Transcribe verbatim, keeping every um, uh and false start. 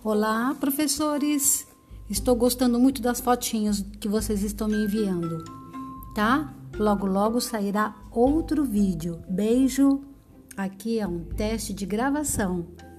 Olá, professores! Estou gostando muito das fotinhos que vocês estão me enviando, tá? Logo, logo sairá outro vídeo. Beijo! Aqui é um teste de gravação.